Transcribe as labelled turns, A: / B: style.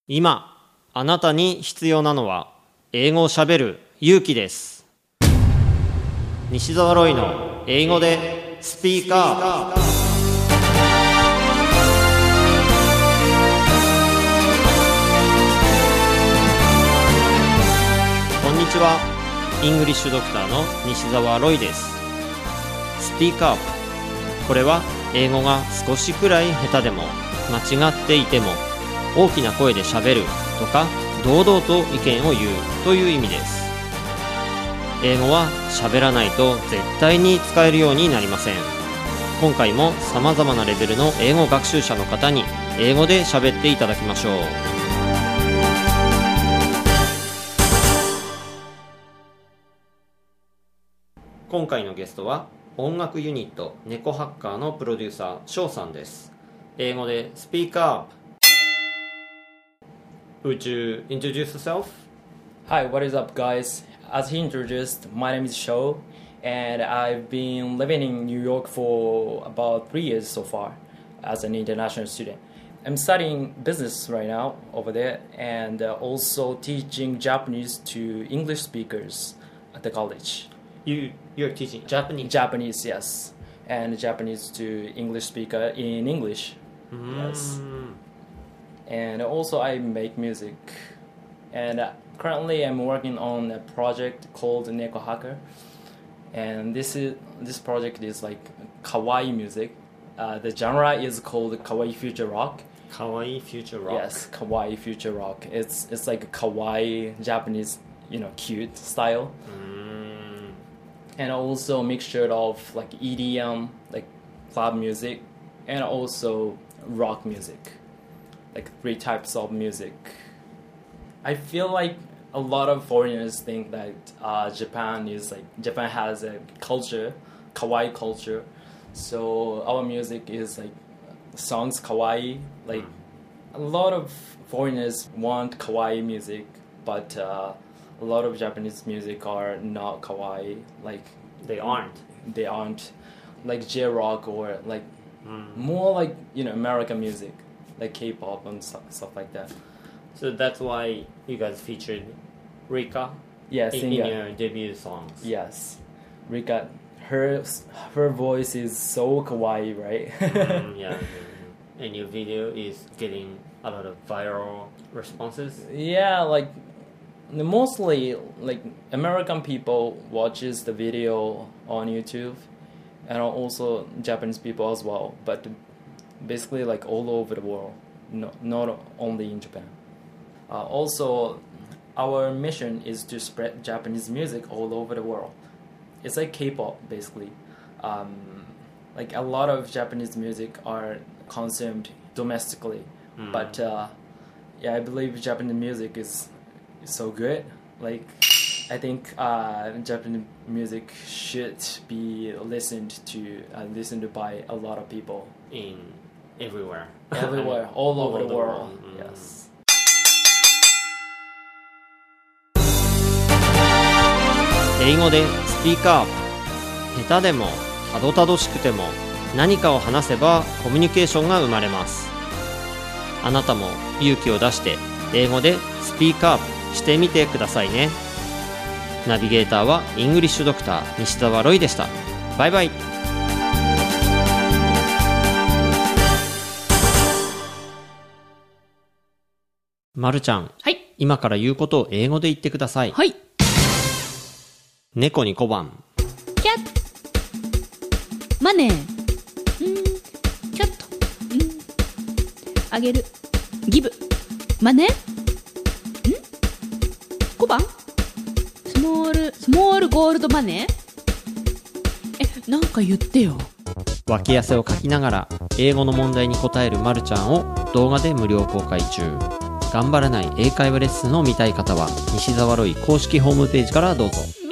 A: 今あなたに必要なのは英語をしゃべる勇気です。西澤ロイの英語でスピーカー。こんにちは。イングリッシュドクターの西澤ロイです。スピーカー。これは英語が少しくらい下手でも間違っていても大きな声でしゃべるとか堂々と意見を言うという意味です。英語はしゃべらないと絶対に使えるようになりません。今回も様々なレベルの英語学習者の方に英語でしゃべっていただきましょう。今回のゲストは音楽ユニット猫ハッカーのプロデューサー翔さんです。英語でスピーカー。Would you introduce yourself?
B: Hi, what is up, guys? As he introduced, my name is Sho, and I've been living in New York for about 3 years so far as an international student. I'm studying business right now over there, and also teaching Japanese to English speakers at the college.
A: You're teaching Japanese?
B: Japanese, yes, and Japanese to English speaker in English. Yes. And also I make music, and currently I'm working on a project called Neko Hacker, and this project is like kawaii music. The genre is called kawaii future rock.
A: Kawaii future rock.
B: Yes, kawaii future rock. It's like a kawaii Japanese, cute style. And also a mixture of like EDM, like club music, and also rock music. Like 3 types of music. I feel like a lot of foreigners think that Japan has a culture, kawaii culture. So our music is like songs kawaii. Like a lot of foreigners want kawaii music, but a lot of Japanese music are not kawaii. Like
A: They aren't.
B: They aren't. Like J-rock or like more like American music. Like K-pop and stuff like that.
A: So that's why you guys featured Rika in your debut songs.
B: Yes. Rika, her voice is so kawaii, right?
A: Yeah. And your video is getting a lot of viral responses?
B: Yeah, like mostly like American people watches the video on YouTube, and also Japanese people as well, but basically like all over the world, not only in Japan. Also, our mission is to spread Japanese music all over the world. It's like K-pop basically. Like a lot of Japanese music are consumed domestically, but I believe Japanese music is so good. Like I think Japanese music should be listened to by a lot of people
A: everywhere,
B: all over the world. Yes.
A: 英語でスピーカー。下手でもたどたどしくても何かを話せばコミュニケーションが生まれます。あなたも勇気を出して英語でスピーカーしてみてくださいね。ナビゲーターはイングリッシュドクター西澤ロイでした。バイバイ。まるちゃん、
C: はい。
A: 今から言うことを英語で言ってください。
C: はい。
A: 猫に小判。
C: キャット。マネー。キャット。あげる。ギブ。マネー。小判。スモールゴールドマネー。なんか言ってよ。
A: 脇汗をかきながら英語の問題に答えるまるちゃんを動画で無料公開中。頑張らない英会話レッスンを見たい方は西澤ロイ公式ホームページからどうぞ。